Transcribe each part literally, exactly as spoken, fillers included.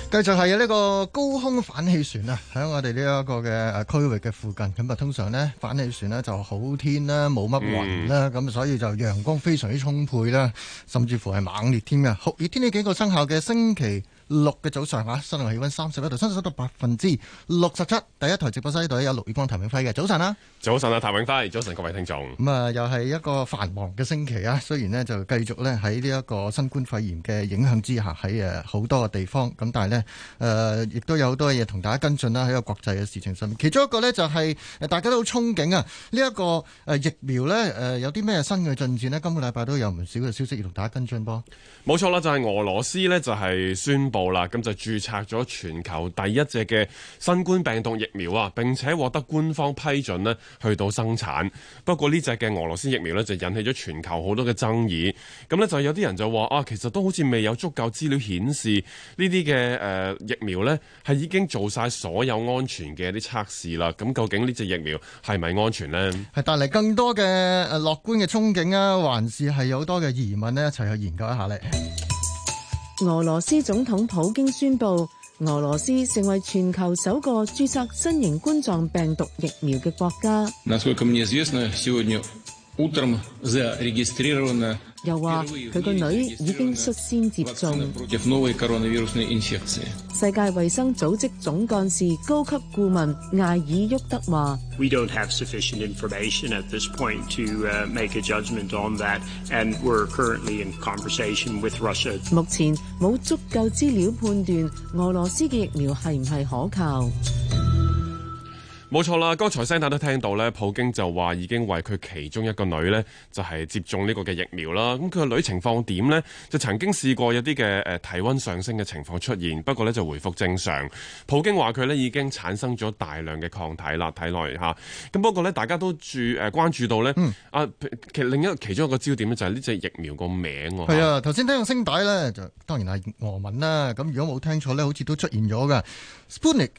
繼續係呢個高空反氣旋啊，喺我哋呢一個嘅誒區域嘅附近，咁啊通常呢反氣旋呢就好天啦，冇乜雲啦，咁、嗯、所以就陽光非常之充沛啦，甚至乎係猛烈添嘅。酷熱天氣警告生效嘅星期六嘅早上啊，室內氣溫三十一度，相對濕度百分之六十七。第一台直播室呢度有陸宇光、譚永輝嘅早晨啦。 早晨啊，譚永輝，早晨各位聽眾。 咁啊，又係一個繁忙嘅星期啊。雖然呢就繼續咧喺呢一個新冠肺炎嘅影響之下，喺誒好多嘅地方，咁但係呢，誒、呃、亦都有好多嘢同大家跟進啦。喺個國際嘅事情上面，其中一個呢就係誒大家都好憧憬啊。呢、這、一個誒疫苗呢，誒有啲咩新嘅進展呢？今個禮拜都有唔少嘅消息要同大家跟進噃。 冇錯啦，就係、是、俄羅斯呢，就係宣布啦，咁就註冊咗全球第一隻嘅新冠病毒疫苗啊，並且獲得官方批准呢去到生產。不過呢隻嘅俄羅斯疫苗呢，就引起咗全球好多嘅爭議。咁呢，就有啲人就話啊，其實都好似未有足夠資料顯示呢啲嘅誒疫苗呢係已經做晒所有安全嘅啲測試啦。咁究竟呢隻疫苗係咪安全呢？係帶嚟更多嘅誒樂觀嘅憧憬啊，還是係有好多嘅疑問呢？一齊去研究一下咧。 俄羅斯總統普京宣布，俄羅斯成為全球首個註冊新型冠狀病毒疫苗嘅國家。又話佢個女已經率先接種。世界衛生組織總幹事高級顧問艾爾沃德話 ：We don't have sufficient information at this point to make a judgment on that, and we're currently in conversation with Russia. 目前冇足夠資料判斷俄羅斯嘅疫苗係唔係可靠。 冇錯啦，剛才聲帶都聽到咧，普京就話已經為佢其中一個女呢，就係接種呢個嘅疫苗啦。咁佢個女情況點呢？就曾經試過有啲嘅誒體溫上升嘅情況出現，不過呢就回復正常。普京話佢呢已經產生咗大量嘅抗體啦，體內嚇。咁不過呢，大家都注誒關注到呢，嗯、啊，其另一個其中一個焦點呢，就係呢隻疫苗個名喎。 係啊，頭先聽個聲帶呢，就當然係俄文啦。咁如果冇聽錯呢，好似都出現咗㗎 Sputnik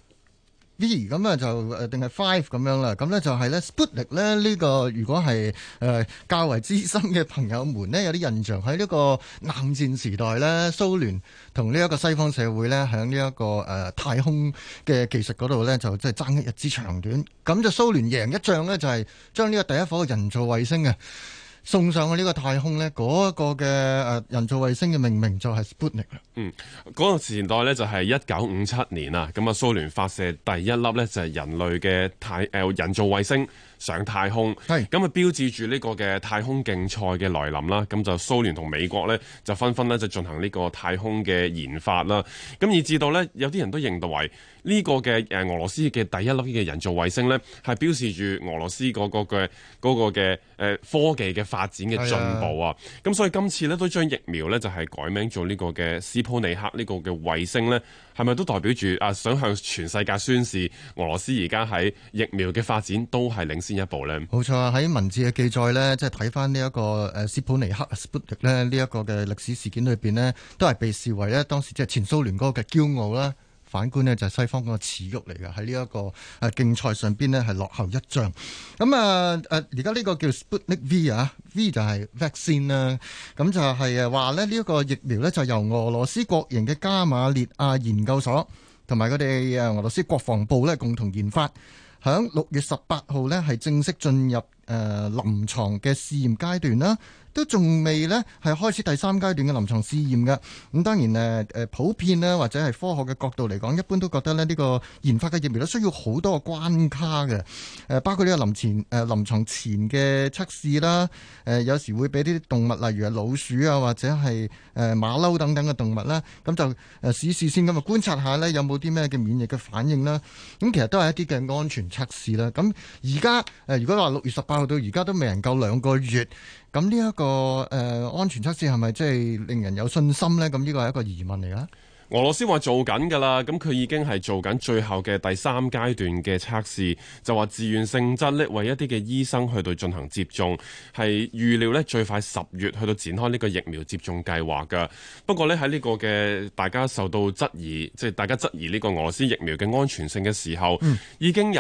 V 咁啊就誒定係 Five 咁樣啦，咁咧就係咧 Sputnik 咧呢個如果係誒、呃、較為資深嘅朋友們呢，有啲印象喺呢個冷戰時代咧，蘇聯同呢一個西方社會咧喺呢一個誒、呃、太空嘅技術嗰度咧就即係爭一日之長短，咁就蘇聯贏一仗咧就係將呢個第一顆人造衛星啊送上去呢個太空呢，嗰、那個嘅誒人造衛星嘅命名就係 Sputnik 啦。 嗯，嗰、那個時代呢，就係一九五七年啊，咁啊蘇聯發射第一粒呢，就係人類嘅太誒、呃、人造衛星上太空，係咁啊標誌住呢個嘅太空競賽嘅來臨啦。咁就蘇聯同美國呢，就紛紛呢，就進行呢個太空嘅研發啦。咁以至到呢，有啲人都認為呢個嘅誒俄羅斯嘅第一粒嘅人造衛星呢，係標示住俄羅斯嗰個嘅嗰個嘅誒科技嘅發展嘅進步啊。咁所以今次呢，都將疫苗呢，就係改名做呢個嘅斯普尼克呢個嘅衛星呢，係咪都代表住啊想向全世界宣示俄羅斯而家喺疫苗嘅發展都係領先一步呢？ 冇錯啊！喺文字嘅記載呢，即係睇翻呢一個誒斯普尼克 Sputnik 咧呢一個嘅歷史事件裏邊呢，都係被視為呢當時即係前蘇聯嗰個嘅驕傲啦。反觀呢，就係西方嗰個恥辱嚟嘅，喺呢一個誒競賽上邊呢，係落後一仗。咁啊誒而家呢個叫 Sputnik V 啊 V 就係 vaccine 啦。咁就係誒話咧呢一個疫苗呢，就由俄羅斯國營嘅加馬列亞研究所同埋佢哋誒俄羅斯國防部呢共同研發，響六月十八號呢，係正式進入誒臨床嘅試驗階段啦。都仲未呢係開始第三階段嘅臨床試驗嘅。咁當然誒誒普遍呢，或者係科學嘅角度嚟講，一般都覺得咧呢個研發嘅疫苗都需要好多個關卡嘅。誒包括呢個臨前誒臨床前嘅測試啦。誒有時會俾啲動物，例如係老鼠啊，或者係誒馬騮等等嘅動物啦。咁就誒試試先咁啊，觀察下呢有冇啲咩嘅免疫嘅反應啦。咁其實都係一啲嘅安全測試啦。咁而家誒如果話六月十八號到而家都未能夠兩個月。咁呢一個誒、呃、安全測試係咪即係令人有信心呢？咁呢個係一個疑問嚟㗎。 俄羅斯話做緊㗎啦，咁佢已經係做緊最後嘅第三階段嘅測試，就話自願性質咧，為一啲嘅醫生去到進行接種，係預料咧最快十月去到展開呢個疫苗接種計劃㗎。不過咧喺呢個嘅大家受到質疑，即係大家質疑呢個俄羅斯疫苗嘅安全性嘅時候，嗯、已經有咧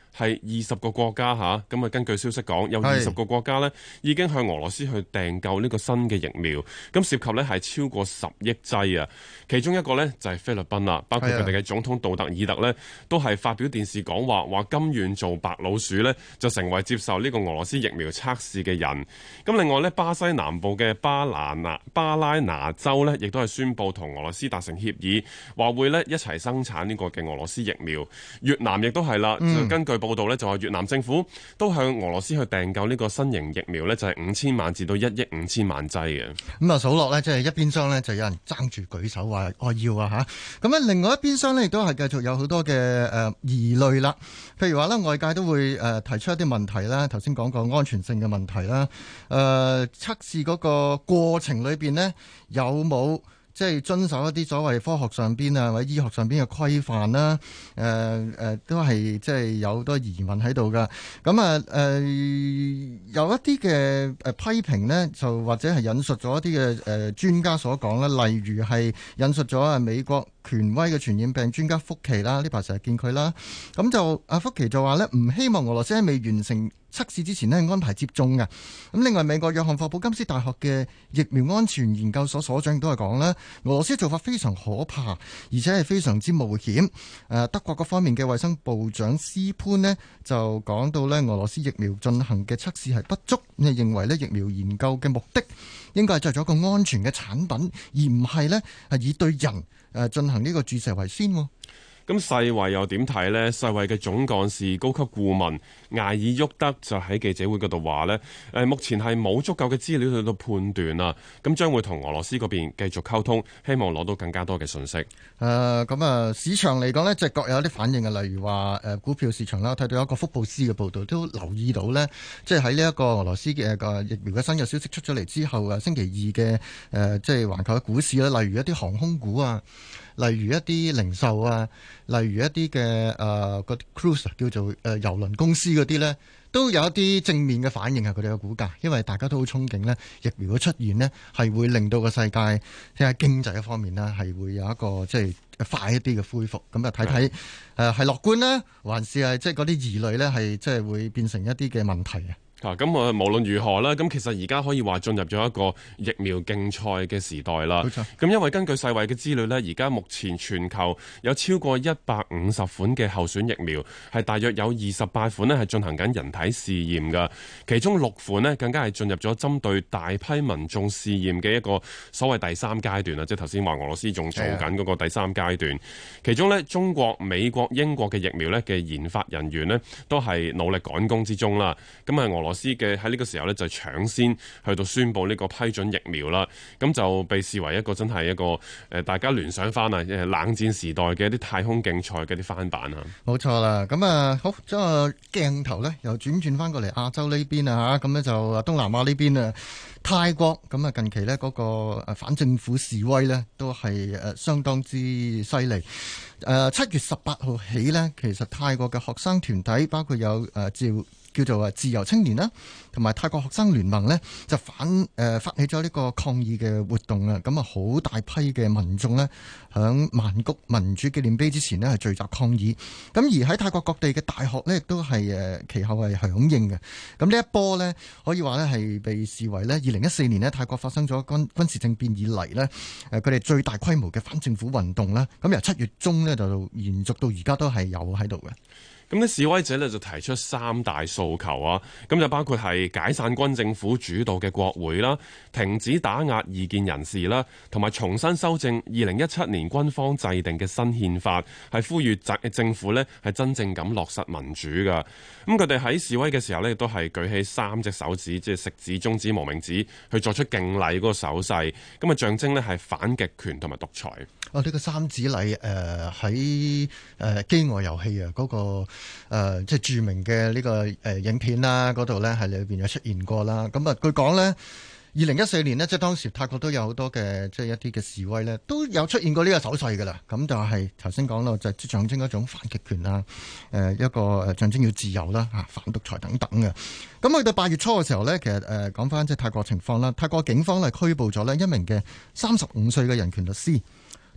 係二十個國家嚇，咁啊根據消息講，有二十個國家呢已經向俄羅斯去訂購呢個新嘅疫苗，咁涉及呢係超過十億劑啊。其中一個呢就係菲律賓啦，包括佢哋嘅總統杜特爾特呢都係發表電視講話，話甘願做白老鼠呢就成為接受呢個俄羅斯疫苗測試嘅人。咁另外呢，巴西南部嘅巴拿拿巴拉拿州呢亦都係宣布同俄羅斯達成協議，話會呢一齊生產呢個嘅俄羅斯疫苗。越南亦都係啦，就根據報道呢就話越南政府都向俄羅斯去訂購呢個新型疫苗呢就係五千萬至到一億五千萬劑嘅。 咁啊數落呢，即係一邊廂呢就有人爭住舉手話我要啊嚇，咁咧另外一邊廂呢亦都係繼續有好多嘅誒疑慮啦。譬如話呢，外界都會誒提出一啲問題啦，頭先講過安全性嘅問題啦，誒、呃、測試嗰個過程裏邊呢，有冇即係遵守一啲所謂科學上邊啊或者醫學上邊嘅規範啦？誒、呃、誒、呃、都係即係有好多疑問喺度噶。咁啊誒有一啲嘅誒批評呢，就或者係引述咗一啲嘅誒專家所講啦，例如係引述咗啊美國權威嘅傳染病專家福奇啦，呢排成日見佢啦。咁就阿福奇就話呢，唔希望俄羅斯喺未完成測試之前呢安排接種嘅。咁另外美國約翰霍普金斯大學嘅疫苗安全研究所所長亦都係講啦，俄羅斯做法非常可怕，而且係非常之冒險。誒德國嗰方面嘅衛生部長斯潘呢就講到呢，俄羅斯疫苗進行嘅測試係不足，你認為呢疫苗研究嘅目的應該係製咗一個安全嘅產品，而唔係呢係以對人誒進行呢個注射為先。 咁世衛又點睇呢？世衛嘅總幹事高級顧問艾爾沃德就喺記者會嗰度話呢，誒目前係冇足夠嘅資料去到判斷啊，咁將會同俄羅斯嗰邊繼續溝通，希望攞到更加多嘅信息。誒咁啊，市場嚟講呢，就各有一啲反應啊，例如話誒股票市場啦，睇到一個福布斯嘅報導都留意到呢，即係喺呢一個俄羅斯嘅個疫苗嘅新嘅消息出咗嚟之後啊，星期二嘅誒即係環球嘅股市啦，例如一啲航空股啊，例如一啲零售啊，例如一啲嘅誒嗰啲 cruise 叫做誒郵輪公司嗰啲咧，都有一啲正面嘅反應啊！佢哋嘅股價，因為大家都好憧憬呢疫苗嘅出現呢係會令到個世界即係經濟嘅方面呢係會有一個即係快一啲嘅恢復。咁啊睇睇誒係樂觀呢，還是係即係嗰啲疑慮呢係即係會變成一啲嘅問題啊？ 啊，咁啊，無論如何啦，咁其實而家可以話進入咗一個疫苗競賽嘅時代啦。冇錯。咁因為根據世衛嘅資料呢，而家目前全球有超過一百五十款嘅候選疫苗，係大約有二十八款呢係進行緊人體試驗㗎。其中六款呢更加係進入咗針對大批民眾試驗嘅一個所謂第三階段啦，即係頭先話俄羅斯仲做緊嗰個第三階段。其中呢，中國、美國、英國嘅疫苗呢嘅研發人員呢都係努力趕工之中啦。咁啊，俄羅斯嘅喺呢個時候呢，就搶先去到宣布呢個批准疫苗啦，咁就被視為一個真係一個誒大家聯想翻啊，冷戰時代嘅一啲太空競賽嘅啲翻版啊。冇錯啦，咁啊好，將個鏡頭呢又轉轉翻過嚟亞洲呢邊啊嚇，咁呢就東南亞呢邊啊，泰國咁啊近期呢嗰個誒反政府示威呢都係誒相當之犀利。誒七月十八號起呢，其實泰國嘅學生團體包括有誒召。叫做啊自由青年啦，同埋泰國學生聯盟呢，就反誒、呃、發起咗呢個抗議嘅活動啊！咁啊，好大批嘅民眾呢，響曼谷民主紀念碑之前呢，係聚集抗議。咁而喺泰國各地嘅大學呢，亦都係誒其後係響應嘅。咁呢一波呢，可以話呢係被視為呢二零一四年呢泰國發生咗軍軍事政變以嚟呢，誒佢哋最大規模嘅反政府運動啦。咁由七月中呢，就延續到而家都係有喺度嘅。 咁啲示威者呢就提出三大訴求啊，咁就包括係解散軍政府主導嘅國會啦，停止打壓異見人士啦，同埋重新修正二零一七年軍方制定嘅新憲法，係呼籲政府呢係真正咁落實民主噶。咁佢哋喺示威嘅時候呢，亦都係舉起三隻手指，即係食指、中指、無名指，去作出敬禮嗰個手勢，咁啊象徵呢係反極權同埋獨裁。 哦，呢、這個三指禮誒喺誒飢餓遊戲啊嗰個誒、呃、即係著名嘅呢個誒影片啦，嗰度咧係裏邊有出現過啦。咁啊，據講咧，二零一四年呢，即係當時泰國都有好多嘅即係一啲嘅示威咧，都有出現過呢個手勢噶啦。咁就係頭先講到就係象徵一種反極權啊，誒一個誒象徵要自由啦嚇，反獨裁等等嘅。咁去到八月初嘅時候咧，其實誒講翻即係泰國情況啦，泰國警方咧拘捕咗咧一名嘅三十五歲嘅人權律師。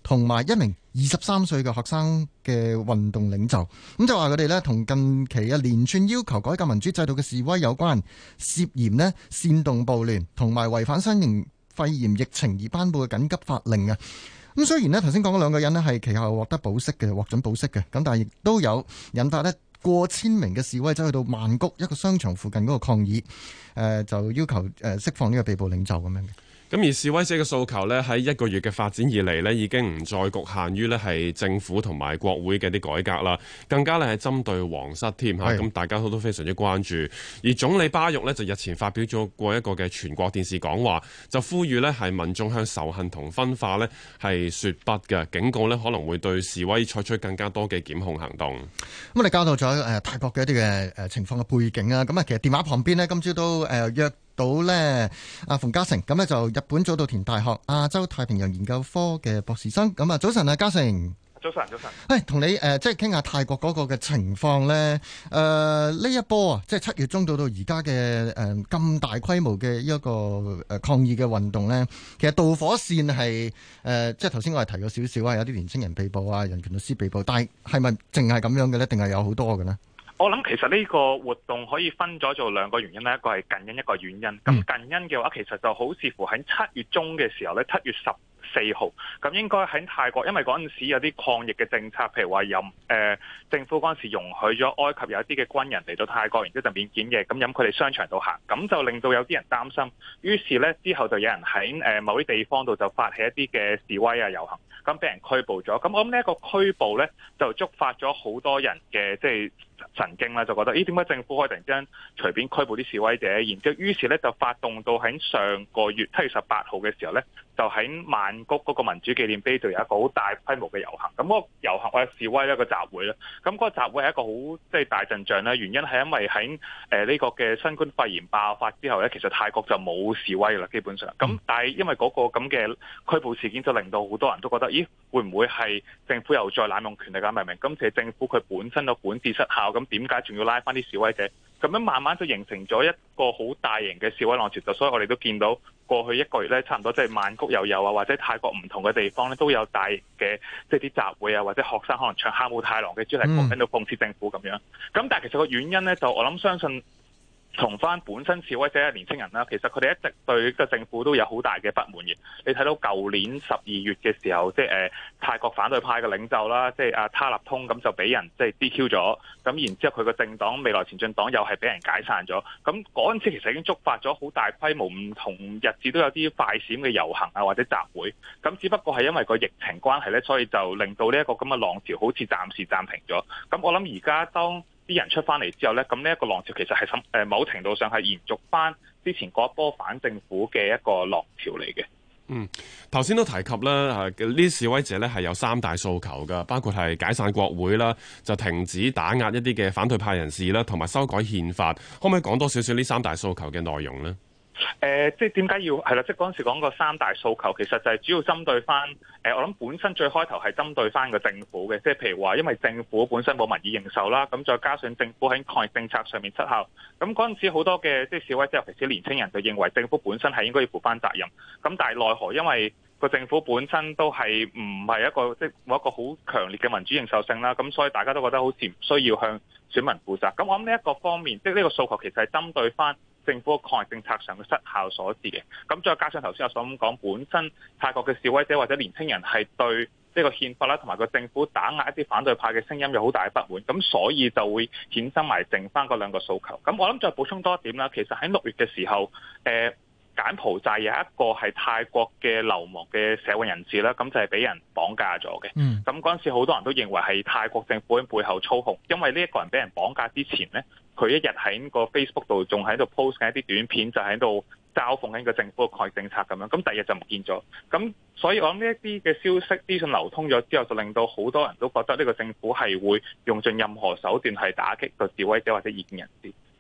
同埋一名二十三歲嘅學生嘅運動領袖。咁就話佢哋呢同近期嘅連串要求改革民主制度嘅示威有關，涉嫌呢煽動暴亂同埋違反新型肺炎疫情而頒布嘅緊急法令啊。咁雖然呢頭先講嗰兩個人呢係其後獲得保釋嘅，獲准保釋嘅，咁但係亦都有引發呢過千名嘅示威者去到曼谷一個商場附近嗰個抗議，誒、呃、就要求誒釋放呢個被捕領袖咁樣嘅。 咁而示威者嘅訴求呢，喺一個月嘅發展以嚟呢，已經唔再局限於呢係政府同埋國會嘅啲改革啦，更加呢係針對皇室添嚇。咁大家都都非常之關注。而總理巴育呢，就日前發表咗過一個嘅全國電視講話，就呼籲呢係民眾向仇恨同分化呢係説不嘅，警告呢可能會對示威採取更加多嘅檢控行動。咁我哋交代咗誒泰國嘅一啲嘅誒情況嘅背景啊。咁啊，其實電話旁邊呢，今朝都誒約到呢阿馮嘉誠，咁呢就日本早稻田大學亞洲太平洋研究科嘅博士生。咁啊，早晨啊，嘉誠。 早晨，早晨。 誒，同你誒即係傾下泰國嗰個嘅情況咧。誒、呃，呢一波啊，即係七月中到到而家嘅誒咁大規模嘅一個誒抗議嘅運動咧，其實導火線係誒、呃，即係頭先我係提過少少啊，有啲年青人被捕啊，人權律師被捕，但係係咪淨係咁樣嘅咧？定係有好多嘅呢？ 我諗其實呢個活動可以分咗做兩個原因咧，一個係近因，一個原因。咁近因嘅話，其實就好似乎喺七月中嘅時候咧，七月十四號，咁應該喺泰國，因為嗰陣時有啲抗疫嘅政策，譬如話任誒政府嗰陣時容許咗埃及有一啲嘅軍人嚟到泰國，然之後就免檢疫，咁飲佢哋商場度行，咁就令到有啲人擔心，於是咧之後就有人喺誒某啲地方度就發起一啲嘅示威啊遊行，咁俾人拘捕咗。咁我諗呢一個拘捕咧，就觸發咗好多人嘅即係神經啦，就覺得咦點解政府可以突然之間隨便拘捕啲示威者？然之後於是咧就發動到喺上個月七月十八號嘅時候咧，就喺曼谷嗰個民主紀念碑度有一個好大規模嘅遊行。咁嗰個遊行或者示威一個集會啦。咁嗰個集會係一個好即係大陣仗啦。原因係因為喺誒呢個嘅新冠肺炎爆發之後咧，其實泰國就冇示威啦，基本上。咁但係因為嗰個咁嘅拘捕事件，就令到好多人都覺得咦會唔會係政府又再濫用權力㗎？明唔明？今次政府佢本身個管治失效，咁點解仲要拉翻啲示威者？咁樣慢慢就形成咗一個好大型嘅示威浪潮，就所以我哋都見到過去一個月咧，差唔多即係曼谷又有啊，或者泰國唔同嘅地方咧都有大型嘅即係啲集會啊，或者學生可能唱哈姆太郎嘅主題曲喺度諷刺政府咁樣。咁但係其實個原因咧，就我諗相信同翻本身示威者嘅年輕人啦，其實佢哋一直對個政府都有好大嘅不滿嘅。你睇到舊年十二月嘅時候，即係誒泰國反對派嘅領袖啦，即係阿他立通咁就俾人即係 D Q 咗，咁然之後佢個政黨未來前進黨又係俾人解散咗。咁嗰陣時其實已經觸發咗好大規模唔同日子都有啲快閃嘅遊行啊或者集會。咁只不過係因為個疫情關係咧，所以就令到呢一個咁嘅浪潮好似暫時暫停咗。咁我諗而家當啲人出翻嚟之後呢，咁呢一個浪潮其實係誒某程度上係延續翻之前嗰一波反政府嘅一個浪潮嚟嘅。 嗯，頭先都提及啦，呢啲示威者呢係有三大訴求噶，包括係解散國會啦，就停止打壓一啲嘅反對派人士啦，同埋修改憲法。可唔可以講多少少呢三大訴求嘅內容呢？ 誒、呃，即係點解要係啦？即係嗰陣時講個三大訴求，其實就係主要針對翻誒、呃，我諗本身最開頭係針對翻個政府嘅，即係譬如話，因為政府本身冇民意認受啦，咁再加上政府喺抗疫政策上面失效，咁嗰陣時好多嘅即係示威者，尤其是年輕人就認為政府本身係應該要負翻責任，咁但係奈何因為個政府本身都係唔係一個即係冇一個好強烈嘅民主認受性啦，咁所以大家都覺得好似唔需要向選民負責。咁我諗呢一個方面，即係呢個訴求其實係針對翻政府嘅抗疫政策上嘅失效所致嘅。咁再加上頭先我所講，本身泰國嘅示威者或者年輕人係對呢個憲法啦，同埋個政府打壓一啲反對派嘅聲音有好大嘅不滿，咁所以就會衍生埋剩翻嗰兩個訴求。咁我諗再補充多一點啦，其實喺六月嘅時候，誒、呃。柬埔寨有一個係泰國嘅流亡嘅社會人士啦，咁就係俾人綁架咗嘅。咁嗰陣時好多人都認為係泰國政府喺背後操控，因為呢一個人俾人綁架之前呢，佢一日喺個 Facebook 度仲喺度 post 緊一啲短片，就喺度嘲諷緊個政府嘅抗疫政策咁樣。咁第二日就唔見咗。咁所以我諗呢一啲嘅消息資訊流通咗之後，就令到好多人都覺得呢個政府係會用盡任何手段係打擊個示威者或者異見人士。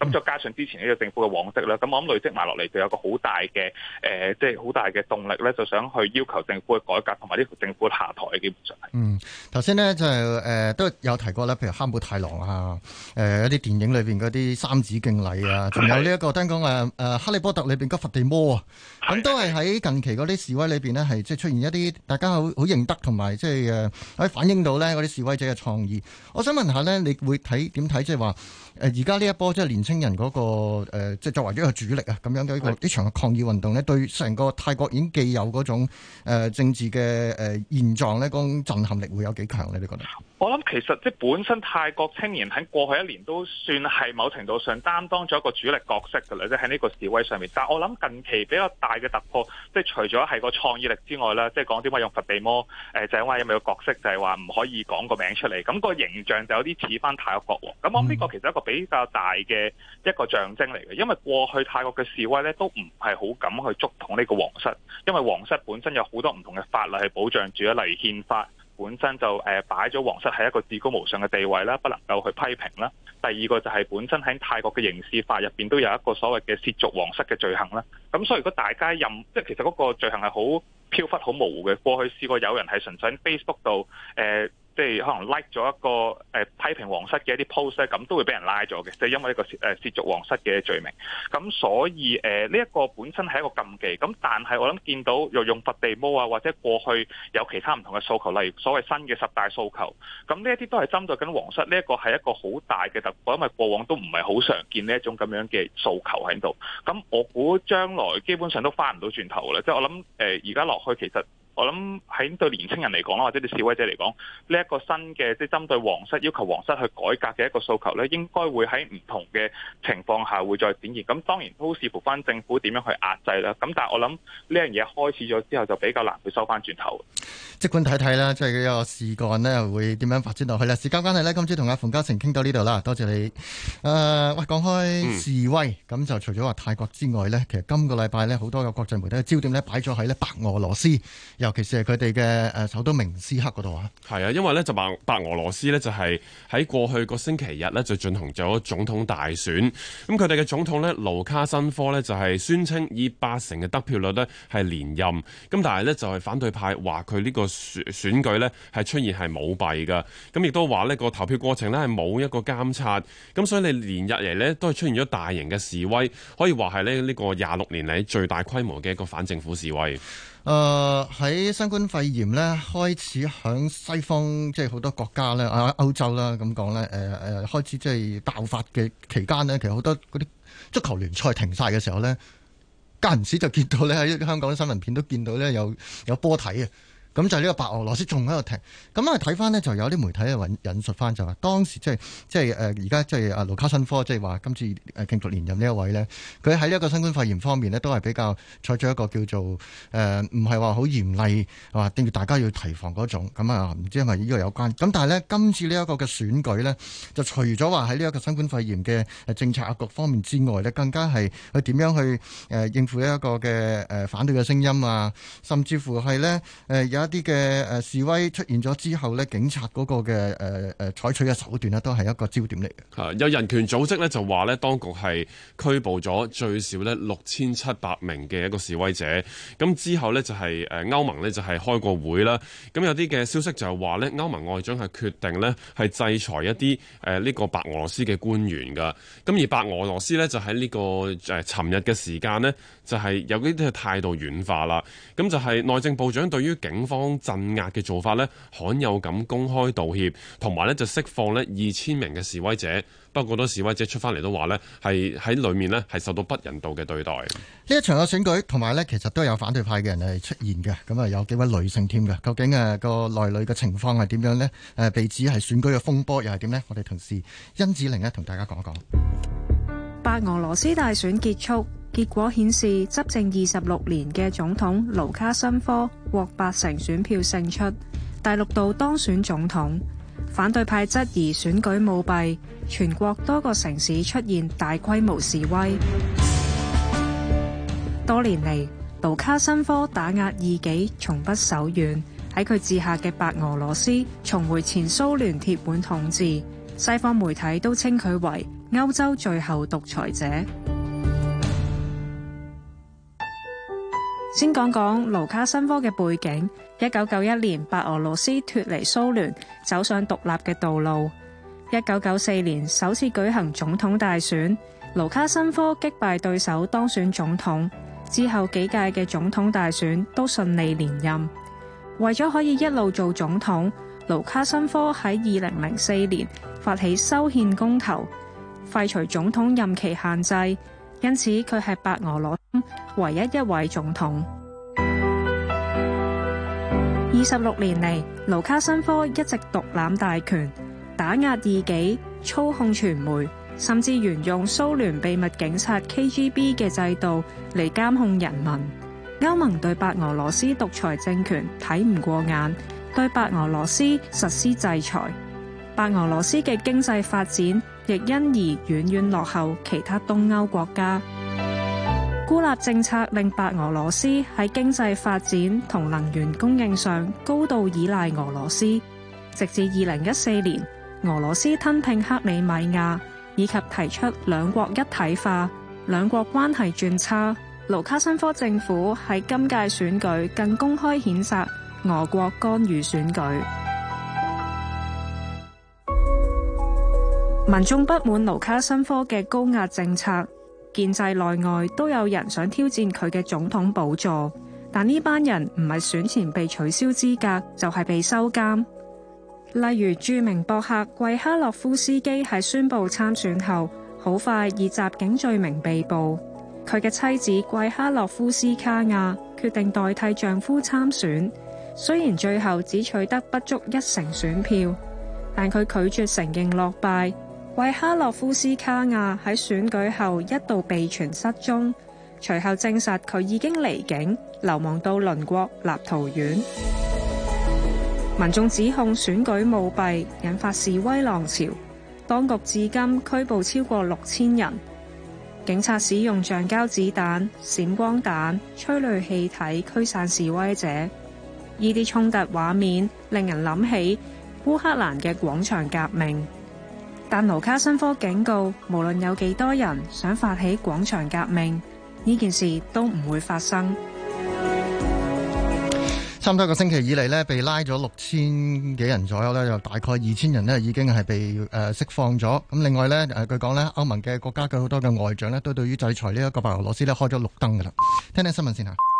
咁再加上之前呢個政府嘅往績啦，咁我諗累積埋落嚟就有個好大嘅誒，即係好大嘅動力咧，就想去要求政府嘅改革同埋呢條政府下台嘅基本上係。 嗯，頭先咧就誒、呃、都有提過啦，譬如哈姆太郎啊，誒、呃、一啲電影裏邊嗰啲三子敬禮啊，仲有呢、這、一個聽講誒誒哈利波特裏邊嗰佛地魔啊，咁都係喺近期嗰啲示威裏邊呢，係即係出現一啲大家好好認得同埋即係誒可以反映到咧嗰啲示威者嘅創意。我想問下咧，你會睇點睇即係話誒而家呢一波即係年青人嗰、那個誒、呃、即係作為一個主力啊咁樣嘅一個呢場嘅抗議運動呢，對成個泰國已經既有嗰種誒、呃、政治嘅誒、呃、現狀呢，嗰種震撼力會有幾強呢？你覺得？ 我諗其實即係本身泰國青年喺過去一年都算係某程度上擔當咗一個主力角色㗎啦，即係喺呢個示威上面。但係我諗近期比較大嘅突破，即係除咗係個創意力之外啦，即係講點解用佛地魔誒就係因為有冇個角色就係話唔可以講個名出嚟，咁個形象就有啲似翻泰國國王。咁我諗呢個其實一個比較大嘅一個象徵嚟嘅，因為過去泰國嘅示威咧都唔係好敢去觸碰呢個皇室，因為皇室本身有好多唔同嘅法律係保障住，例如憲法。本身就誒擺咗皇室係一個至高無上嘅地位啦，不能夠去批評啦。第二個就係本身喺泰國嘅刑事法入邊都有一個所謂嘅褻瀆皇室嘅罪行啦。咁所以如果大家任即係其實嗰個罪行係好飄忽、好模糊嘅。過去試過有人係純粹喺 Facebook 度誒。呃即係可能 like 咗一個誒、呃、批評皇室嘅一啲 post 咧，咁都會俾人拉咗嘅，就係、是、因為呢個誒褻瀆皇室嘅罪名。咁所以誒呢一個本身係一個禁忌。咁但係我諗見到又用佛地魔啊，或者過去有其他唔同嘅訴求，例如所謂新嘅十大訴求。咁呢一啲都係針對緊皇室，呢一個係一個好大嘅突破，因為過往都唔係好常見呢一種咁樣嘅訴求喺度。咁我估將來基本上都翻唔到轉頭啦。即係我諗誒而家落去其實。我諗喺對年青人嚟講啦，或者對示威者嚟講，呢一個新嘅即係針對皇室要求皇室去改革嘅一個訴求咧，應該會喺唔同嘅情況下會再展現。咁當然都視乎翻政府點樣去壓制啦。咁但係我諗呢樣嘢開始咗之後，就比較難去收翻轉頭。即管睇睇啦，即係呢個事幹呢會點樣發展落去啦。時間關係呢，今朝同阿馮嘉誠傾到呢度啦，多謝你。誒、呃，喂，講開示威，咁、嗯、就除咗話泰國之外呢，其實今個禮拜呢，好多嘅國際媒體嘅焦點呢擺咗喺呢白俄羅斯。尤其是係佢哋嘅誒首都明斯克嗰度啊， 係啊，因為咧就白白俄羅斯呢，就係喺過去個星期日呢，就進行咗總統大選，咁佢哋嘅總統呢，盧卡申科呢，就係宣稱以八成嘅得票率呢係連任，咁但係呢，就係反對派話佢呢個選選舉呢係出現係舞弊噶，咁亦都話呢個投票過程呢係冇一個監察，咁所以你連日嚟呢，都係出現咗大型嘅示威，可以話係咧呢個廿六年嚟最大規模嘅一個反政府示威。 誒、呃、喺新冠肺炎咧開始響西方即係好多國家咧啊歐洲啦咁講咧誒誒開始即係爆發嘅期間呢，其實好多嗰啲足球聯賽停晒嘅時候咧，間唔時就見到咧喺香港啲新聞片都見到咧有有波睇啊！咁就係呢個白俄羅斯仲喺度停，咁啊睇翻呢，就有啲媒體啊引引述翻就話當時即係即係誒而家即係阿盧卡申科即係話今次誒競逐連任呢一位呢，佢喺呢一個新冠肺炎方面呢，都係比較採取一個叫做誒唔係話好嚴厲話定住大家要提防嗰種，咁啊唔知係咪呢個有關？咁但係呢，今次呢一個嘅選舉呢，就除咗話喺呢一個新冠肺炎嘅政策各方面之外呢，更加係佢點樣去誒應付呢一個嘅誒反對嘅聲音啊，甚至乎係呢。誒有。一啲嘅誒示威出現咗之後呢，警察嗰個嘅誒誒採取嘅手段呢，都係一個焦點嚟嘅。 有人權組織呢，就話呢，當局係拘捕咗最少呢六千七百名嘅一個示威者。咁之後呢，就係誒歐盟呢，就係開過會啦。咁有啲嘅消息就係話呢，歐盟外長係決定呢，係制裁一啲誒呢個白俄羅斯嘅官員㗎。咁而白俄羅斯呢，就喺呢個誒尋日嘅時間呢，就係有啲嘅態度軟化啦。咁就係內政部長對於警方鎮壓嘅做法呢，罕有咁公開道歉，同埋呢就釋放呢二千名嘅示威者。不過好多示威者出翻嚟都話呢，係喺裏面呢係受到不人道嘅對待。呢一場嘅選舉同埋呢，其實都有反對派嘅人係出現嘅。咁啊，有幾位女性添嘅。究竟誒個內裏嘅情況係點樣呢？誒被指係選舉嘅風波又係點呢？我哋同事甄梓鈴呢同大家講一講。 白俄羅斯大選結束。結果顯示，執政二十六年嘅總統盧卡申科獲八成選票勝出，第六度當選總統。反對派質疑選舉舞弊，全國多個城市出現大規模示威。多年嚟，盧卡申科打壓異己從不手軟，喺佢治下嘅白俄羅斯重回前蘇聯鐵腕統治。西方媒體都稱佢為歐洲最後獨裁者。先講講盧卡申科嘅背景。一九九一年，白俄羅斯脫離蘇聯，走上獨立嘅道路。一九九四年首次舉行總統大選，盧卡申科擊敗對手當選總統。之後幾屆嘅總統大選都順利連任。為咗可以一路做總統，盧卡申科喺二零零四年發起修憲公投，廢除總統任期限制，因此佢係白俄羅斯唯一一位總統。二十六年嚟，盧卡申科一直獨攬大權，打壓異己，操控傳媒，甚至沿用蘇聯秘密警察 K G B 嘅制度嚟監控人民。歐盟對白俄羅斯獨裁政權睇唔過眼，對白俄羅斯實施制裁。白俄羅斯嘅經濟發展亦因而遠遠落後其他東歐國家。孤立政策令白俄羅斯喺經濟發展同能源供應上高度依賴俄羅斯，直至二零一四年俄羅斯吞併克里米亞，以及提出兩國一體化，兩國關係轉差。盧卡申科政府喺今屆選舉更公開譴責俄國干預選舉。民眾不滿盧卡申科嘅高壓政策，建制內外都有人想挑戰佢嘅總統寶座，但呢班人唔係選前被取消資格，就係被收監。例如著名博客季哈諾夫斯基喺宣布參選後，好快以襲警罪名被捕。佢嘅妻子季哈諾夫斯卡亞決定代替丈夫參選，雖然最後只取得不足一成選票，但佢拒絕承認落敗。季哈諾夫斯卡亞喺選舉後一度被傳失蹤，隨後證實佢已經離境，流亡到鄰國立陶宛。民眾指控選舉舞弊，引發示威浪潮，當局至今拘捕超過六千人。警察使用橡膠子彈、閃光彈、催淚氣體驅散示威者。呢啲衝突畫面令人諗起烏克蘭嘅廣場革命。但盧卡申科警告，無論有幾多人想發起廣場革命，呢件事都唔會發生。 差唔多一個星期以嚟呢，被拉咗六千幾人左右呢，有大概二千人呢已經係被誒釋放咗。咁另外呢，誒據講呢，歐盟嘅國家嘅好多嘅外長呢，都對於制裁呢一個白俄羅斯呢開咗綠燈㗎喇。聽聽新聞先嚇。